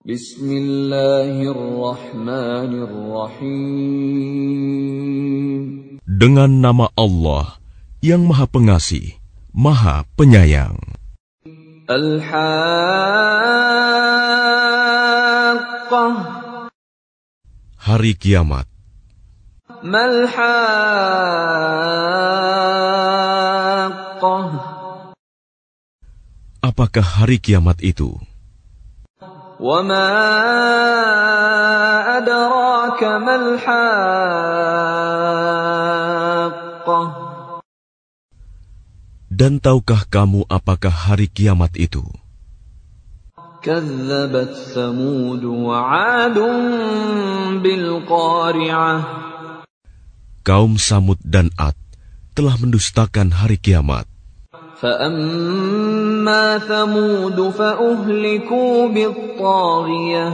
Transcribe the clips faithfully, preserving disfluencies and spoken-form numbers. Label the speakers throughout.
Speaker 1: Bismillahirrahmanirrahim.
Speaker 2: Dengan nama Allah yang Maha Pengasih, Maha Penyayang.
Speaker 1: Al-Haqqah.
Speaker 2: Hari Kiamat.
Speaker 1: Mal-Haqqah.
Speaker 2: Apakah hari kiamat itu?
Speaker 1: وَمَا أَدْرَاكَ مَا الْحَاقَّةُ.
Speaker 2: Dan tahukah kamu apakah hari kiamat itu?
Speaker 1: كَذَّبَتْ ثَمُودُ وَعَادٌ بِالْقَارِعَةِ.
Speaker 2: Kaum Samud dan Ad telah mendustakan hari kiamat.
Speaker 1: فَأَمَّا ثَمُودُ فَأُهْلِكُوا بِالطَّاغِيَةِ.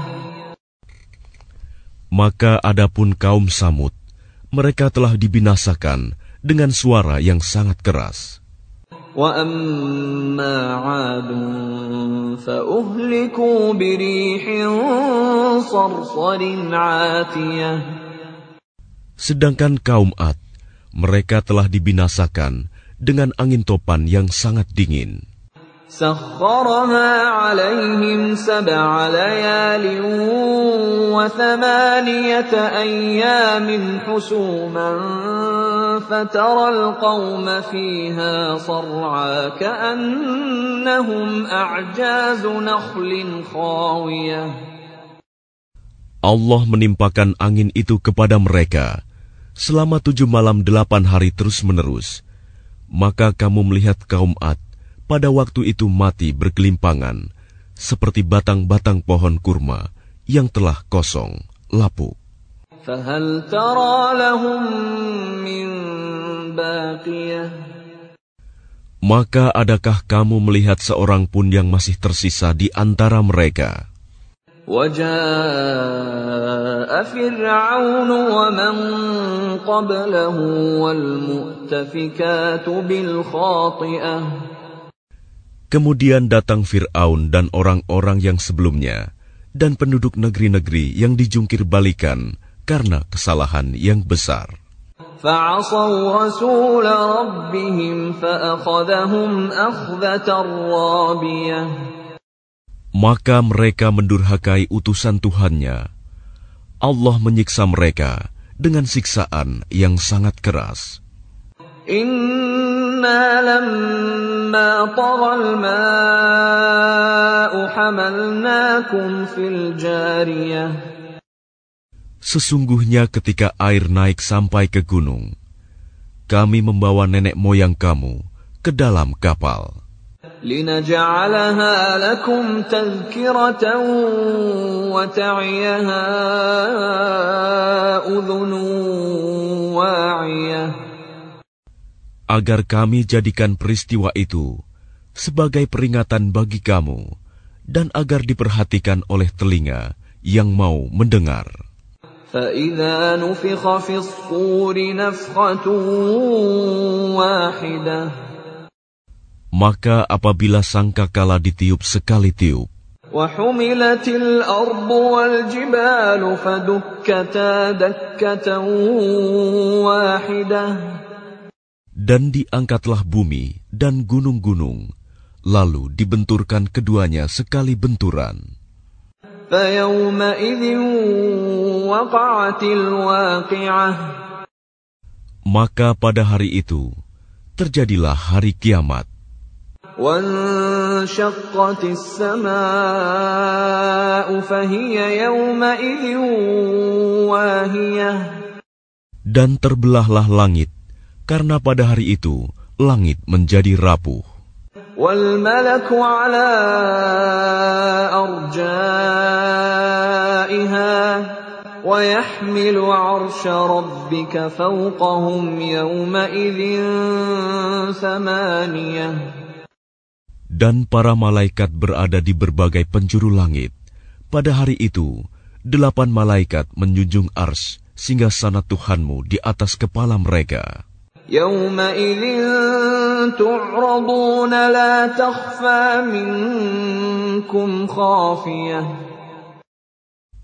Speaker 2: Maka adapun kaum Samud, mereka telah dibinasakan dengan suara yang sangat keras.
Speaker 1: وَأَمَّا عَادٌ فَأُهْلِكُوا بِرِيحٍ صَرْصَرٍ عَاتِيَةٍ.
Speaker 2: Sedangkan kaum Ad, mereka telah dibinasakan dengan angin topan yang sangat dingin.
Speaker 1: سَخَّرَهَا عَلَيْهِمْ سَبْعَ لَيَالٍ وَثَمَانِيَةَ أَيَّامٍ حُسُومًا فَتَرَى الْقَوْمَ فِيهَا صَرْعَىٰ كَأَنَّهُمْ أَعْجَازُ نَخْلٍ خَاوِيَةٍ.
Speaker 2: Allah menimpakan angin itu kepada mereka selama tujuh malam delapan hari terus-menerus. Maka kamu melihat kaum Ad pada waktu itu mati bergelimpangan, seperti batang-batang pohon kurma yang telah kosong, lapuk.
Speaker 1: فَهَلْ تَرَى لَهُم مِّن بَاقِيَةٍ.
Speaker 2: Maka adakah kamu melihat seorang pun yang masih tersisa di antara mereka?
Speaker 1: وَجَاءَ فِرْعَوْنُ وَمَن قَبْلَهُ وَالْمُؤْتَفِكَاتُ بِالْخَاطِئَةِ.
Speaker 2: Kemudian datang Fir'aun dan orang-orang yang sebelumnya, dan penduduk negeri-negeri yang dijungkir balikan karena kesalahan yang besar.
Speaker 1: فَعَصَوْا رَسُولَ رَبِّهِمْ فَأَخَذَهُمْ أَخْذَةً رَّابِيَةً.
Speaker 2: Maka mereka mendurhakai utusan Tuhannya. Allah menyiksa mereka dengan siksaan yang sangat keras.
Speaker 1: Inna lamma taghal ma'u hamalnakum fil jariyah.
Speaker 2: Sesungguhnya ketika air naik sampai ke gunung, kami membawa nenek moyang kamu ke dalam kapal.
Speaker 1: لِنَجْعَلَهَا لَكُمْ تَذْكِرَةً وَتَعِيَهَا أُذُنٌ وَاعِيَةٌ.
Speaker 2: Agar kami jadikan peristiwa itu sebagai peringatan bagi kamu dan agar diperhatikan oleh telinga yang mau mendengar.
Speaker 1: فَإِذَا نُفِخَ فِي الصُّورِ نَفْخَةٌ وَاحِدَةٌ.
Speaker 2: Maka apabila sangkakala ditiup sekali tiup,
Speaker 1: وَحُمِلَتِ الْأَرْضُ وَالْجِبَالُ فَدُكَّتَا دَكَّةً وَاحِدَةً.
Speaker 2: Dan diangkatlah bumi dan gunung-gunung, lalu dibenturkan keduanya sekali benturan.
Speaker 1: فَيَوْمَئِذٍ وَقَعَتِ الْوَاقِعَةُ.
Speaker 2: Maka pada hari itu terjadilah hari kiamat.
Speaker 1: وَانشَقَّتِ السَّمَاءُ فَهِيَ يَوْمَئِذٍ وَاهِيَةٌ.
Speaker 2: Dan terbelahlah langit, karena pada hari itu langit menjadi rapuh.
Speaker 1: وَالْمَلَكُ عَلَى أَرْجَائِهَا وَيَحْمِلُ عَرْشَ رَبِّكَ فَوْقَهُمْ يَوْمَئِذٍ ثَمَانِيَةٌ.
Speaker 2: Dan para malaikat berada di berbagai penjuru langit. Pada hari itu, delapan malaikat menjunjung arsy singgasana Tuhanmu di atas kepala mereka.
Speaker 1: يَوْمَئِذٍ تُعْرَضُونَ لَا تَخْفَى مِنكُمْ خَافِيَةٌ.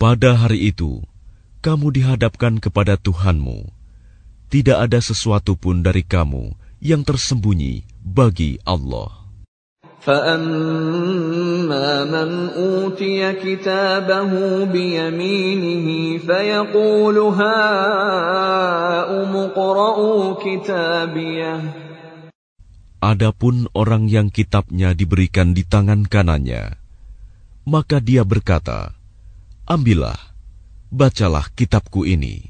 Speaker 2: Pada hari itu, kamu dihadapkan kepada Tuhanmu. Tidak ada sesuatu pun dari kamu yang tersembunyi bagi Allah.
Speaker 1: فَأَمَّا مَنْ أُوتِيَ كِتَابَهُ بِيَمِينِهِ فَيَقُولُ هَاؤُمُ اقْرَءُوا كِتَابِيَهْ.
Speaker 2: Adapun orang yang kitabnya diberikan di tangan kanannya, maka dia berkata, ambillah, bacalah kitabku ini.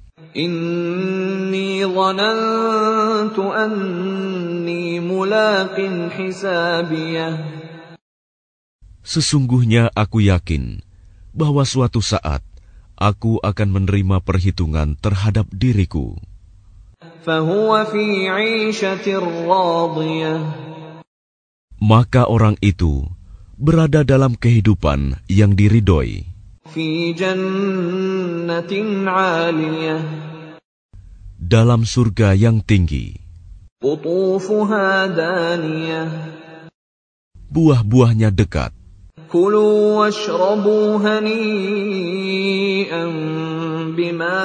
Speaker 1: Inni dhanantu anni mulaqin hisabiyah.
Speaker 2: Sesungguhnya aku yakin bahwa suatu saat aku akan menerima perhitungan terhadap diriku.
Speaker 1: Fahuwa fi 'ishatir radiyah.
Speaker 2: Maka orang itu berada dalam kehidupan yang diridhoi.
Speaker 1: Fi jannatin 'aliyah.
Speaker 2: Dalam surga yang tinggi.
Speaker 1: Qutufuha daniyah.
Speaker 2: Buah-buahnya dekat.
Speaker 1: Kulu washrabu hani'an bima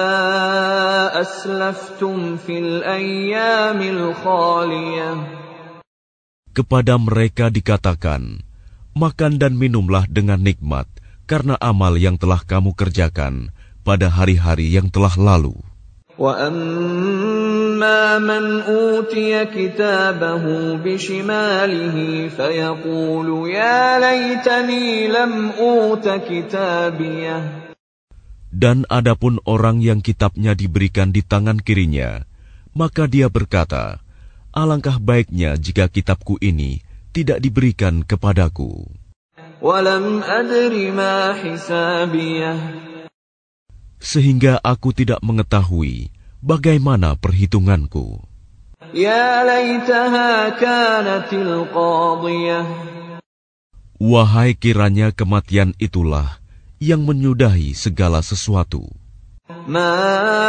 Speaker 1: aslaftum fil ayyamil khaliyah.
Speaker 2: Kepada mereka dikatakan, makan dan minumlah dengan nikmat karena amal yang telah kamu kerjakan pada hari-hari yang telah lalu.
Speaker 1: Wa amma man utiya kitabahu bishimalihi fayaqulu ya laitani lam uta kitabiyah.
Speaker 2: Dan adapun orang yang kitabnya diberikan di tangan kirinya, maka dia berkata, alangkah baiknya jika kitabku ini tidak diberikan kepadaku.
Speaker 1: Walam adri ma hisabiyah.
Speaker 2: Sehingga aku tidak mengetahui bagaimana perhitunganku.
Speaker 1: Ya laitaha kanatil qadiyah.
Speaker 2: Wahai kiranya kematian itulah yang menyudahi segala sesuatu.
Speaker 1: Ma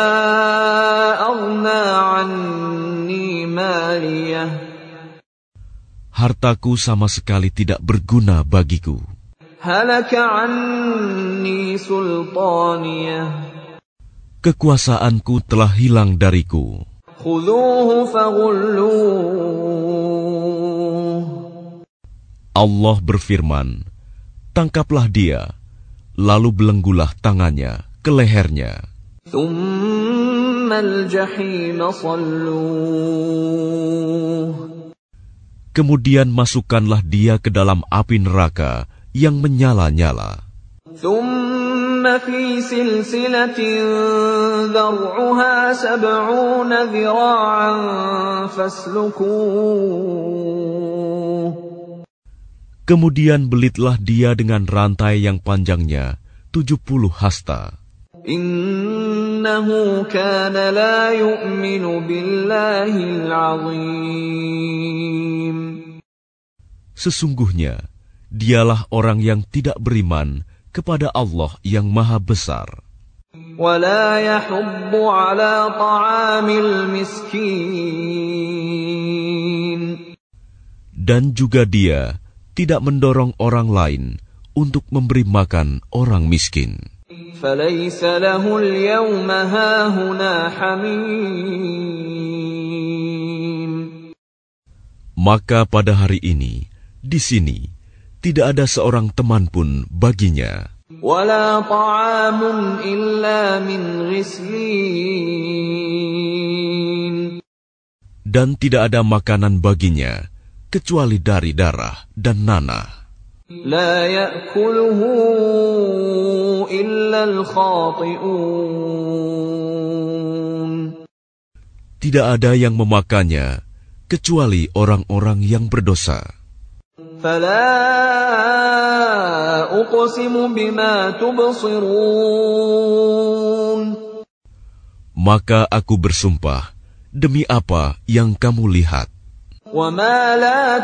Speaker 1: aghna anni maliyah.
Speaker 2: Hartaku sama sekali tidak berguna bagiku.
Speaker 1: Halaka anni sultaniyah.
Speaker 2: Kekuasaanku telah hilang dariku.
Speaker 1: Khudhuhu faghulluh.
Speaker 2: Allah berfirman, tangkaplah dia, lalu belenggulah tangannya ke lehernya.
Speaker 1: Thumma al-jahim salluh.
Speaker 2: Kemudian masukkanlah dia ke dalam api neraka yang menyala-nyala.
Speaker 1: Thumma fi silsilatin dhar'uha sab'una dhira'an faslukuh.
Speaker 2: Kemudian belitlah dia dengan rantai yang panjangnya tujuh puluh hasta.
Speaker 1: Innahu kana la yu'minu billahil 'azim.
Speaker 2: Sesungguhnya, dialah orang yang tidak beriman kepada Allah yang Maha Besar.
Speaker 1: Wa la yahuddu 'ala ta'amil miskin.
Speaker 2: Dan juga dia tidak mendorong orang lain untuk memberi makan orang miskin.
Speaker 1: فَلَيْسَ لَهُ الْيَوْمَ هَاهُنَا حَمِيمٌ.
Speaker 2: Maka pada hari ini, di sini, tidak ada seorang teman pun baginya.
Speaker 1: وَلَا طَعَامٌ إِلَّا مِنْ غِسْلِينٍ.
Speaker 2: Dan tidak ada makanan baginya, kecuali dari darah dan nanah.
Speaker 1: لا يأكله إلا الخاطئون.
Speaker 2: Tidak ada yang memakannya, kecuali orang-orang yang berdosa.
Speaker 1: فلا أقسم بما تبصرون.
Speaker 2: Maka aku bersumpah, demi apa yang kamu lihat.
Speaker 1: وما لا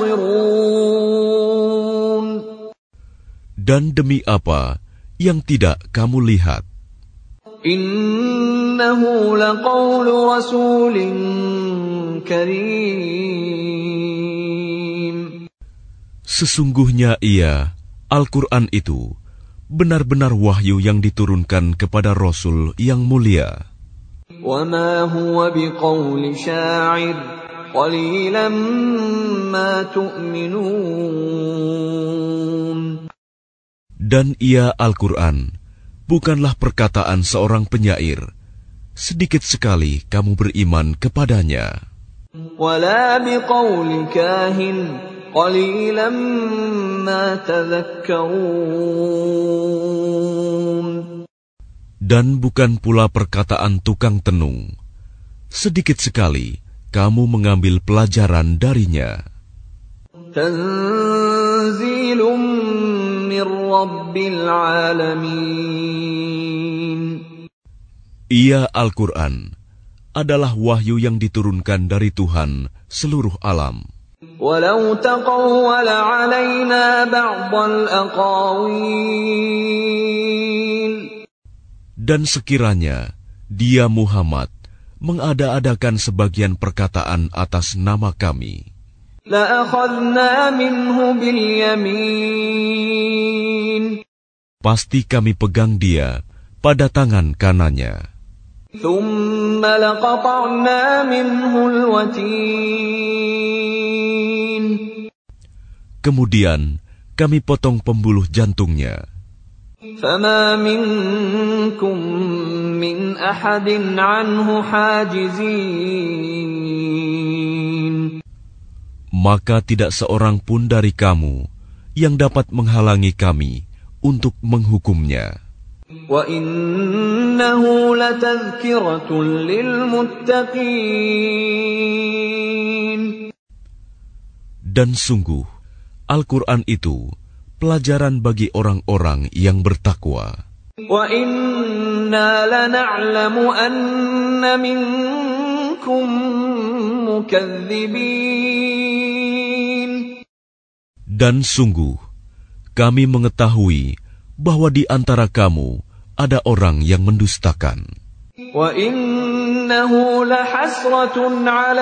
Speaker 1: تبصرون.
Speaker 2: Dan demi apa yang tidak kamu lihat.
Speaker 1: Innahu laqawlu rasulin karim.
Speaker 2: Sesungguhnya ia, Al-Quran itu, benar-benar wahyu yang diturunkan kepada Rasul yang mulia.
Speaker 1: وَمَا هُوَ بِقَوْلِ شَاعِرٍ قَلِيلًا مَا تُؤْمِنُونَ.
Speaker 2: Dan ia Al-Quran bukanlah perkataan seorang penyair, sedikit sekali kamu beriman kepadanya.
Speaker 1: وَلَا بِقَوْلِ كَاهِنٍ قَلِيلًا مَا تَذَكَّرُونَ.
Speaker 2: Dan bukan pula perkataan tukang tenung, sedikit sekali kamu mengambil pelajaran darinya.
Speaker 1: Tanzilum min Rabbil Alamin.
Speaker 2: Ia Al-Quran adalah wahyu yang diturunkan dari Tuhan seluruh alam.
Speaker 1: Walau taqawwala 'alaina ba'dal aqawil.
Speaker 2: Dan sekiranya dia Muhammad mengada-adakan sebagian perkataan atas nama kami,
Speaker 1: la'akhadna minhu bil yamin.
Speaker 2: Pasti kami pegang dia pada tangan kanannya.
Speaker 1: Thumma laqata'na minhu al-watin.
Speaker 2: Kemudian kami potong pembuluh jantungnya.
Speaker 1: فَمَا مِنْكُمْ مِنْ أَحَدٍ عَنْهُ حَاجِزِينَ.
Speaker 2: Maka tidak seorang pun dari kamu yang dapat menghalangi kami untuk menghukumnya.
Speaker 1: وَإِنَّهُ لَتَذْكِرَةٌ لِلْمُتَّقِينَ.
Speaker 2: Dan sungguh, Al-Quran itu pelajaran bagi orang-orang yang bertakwa.
Speaker 1: وَإِنَّا لَنَعْلَمُ أَنَّ مِنكُم مُكَذِّبِينَ.
Speaker 2: Dan sungguh, kami mengetahui bahwa di antara kamu ada orang yang mendustakan.
Speaker 1: وَإِنَّهُ لَحَسْرَةٌ عَلَى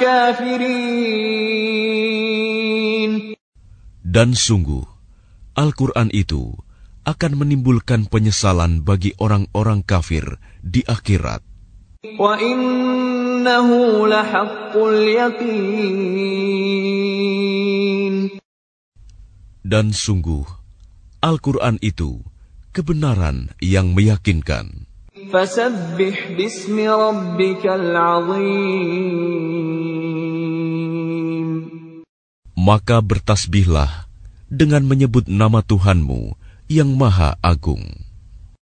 Speaker 1: الْكَافِرِينَ.
Speaker 2: Dan sungguh, Al-Quran itu akan menimbulkan penyesalan bagi orang-orang kafir di akhirat.
Speaker 1: وَإِنَّهُ لَحَقُّ الْيَقِينِ.
Speaker 2: Dan sungguh, Al-Quran itu kebenaran yang meyakinkan.
Speaker 1: فَسَبِّحْ بِاسْمِ رَبِّكَ الْعَظِيمِ.
Speaker 2: Maka bertasbihlah dengan menyebut nama Tuhanmu yang Maha Agung.